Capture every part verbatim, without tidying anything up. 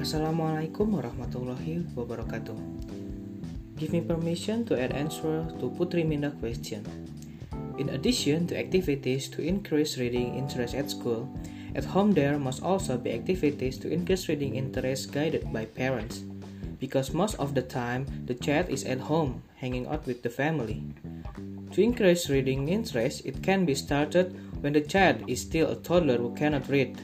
Assalamualaikum warahmatullahi wabarakatuh. Give me permission to add answer to Putri Minda question. In addition to activities to increase reading interest at school, at home there must also be activities to increase reading interest guided by parents, because most of the time the child is at home hanging out with the family. To increase reading interest, it can be started when the child is still a toddler who cannot read.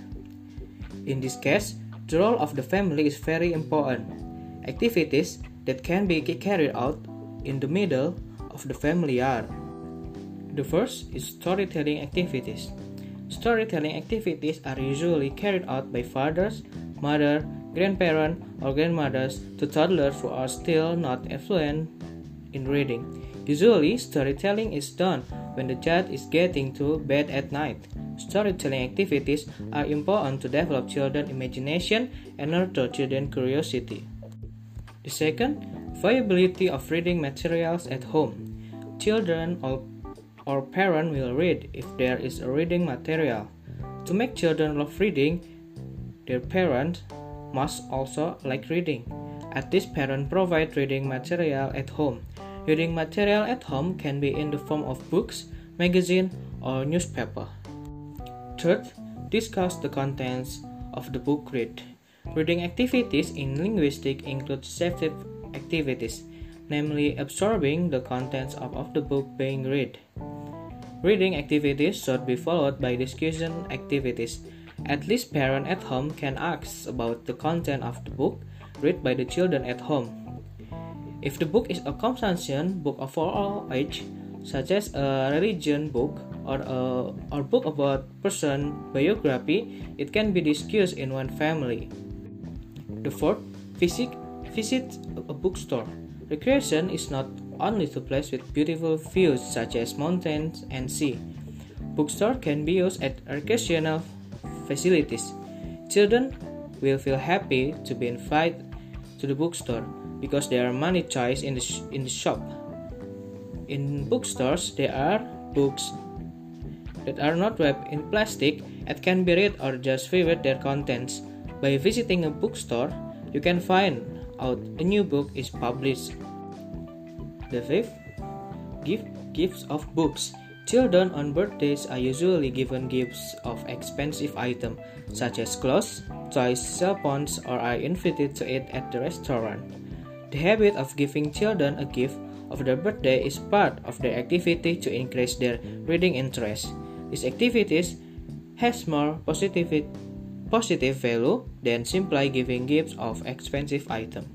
In this case, the role of the family is very important. Activities that can be carried out in the middle of the family are: the first is storytelling activities. Storytelling activities are usually carried out by fathers, mother, grandparents, or grandmothers to toddlers who are still not fluent in reading. Usually, storytelling is done when the child is getting to bed at night. Storytelling activities are important to develop children's imagination and nurture children's curiosity. The second, viability of reading materials at home. Children or, or parents will read if there is a reading material. To make children love reading, their parents must also like reading. At least parents provide reading material at home. Reading material at home can be in the form of books, magazine, or newspaper. Third, discuss the contents of the book read. Reading activities in linguistics include suggestive activities, namely absorbing the contents of, of the book being read. Reading activities should be followed by discussion activities. At least parents at home can ask about the content of the book read by the children at home. If the book is a conversation book for all age, such as a religion book or a or book about person biography, it can be discussed in one family. The fourth, visit, visit a bookstore. Recreation is not only to place with beautiful views such as mountains and sea. Bookstore can be used as recreational facilities. Children will feel happy to be invited to the bookstore because there are many choices in the sh- in the shop. In bookstores, there are books that are not wrapped in plastic and can be read or just viewed their contents. By visiting a bookstore, you can find out a new book is published. The fifth, give gifts of books. Children on birthdays are usually given gifts of expensive items such as clothes, toys, cell phones, or are invited to eat at the restaurant. The habit of giving children a gift of their birthday is part of their activity to increase their reading interest. These activities has more positive, positive value than simply giving gifts of expensive items.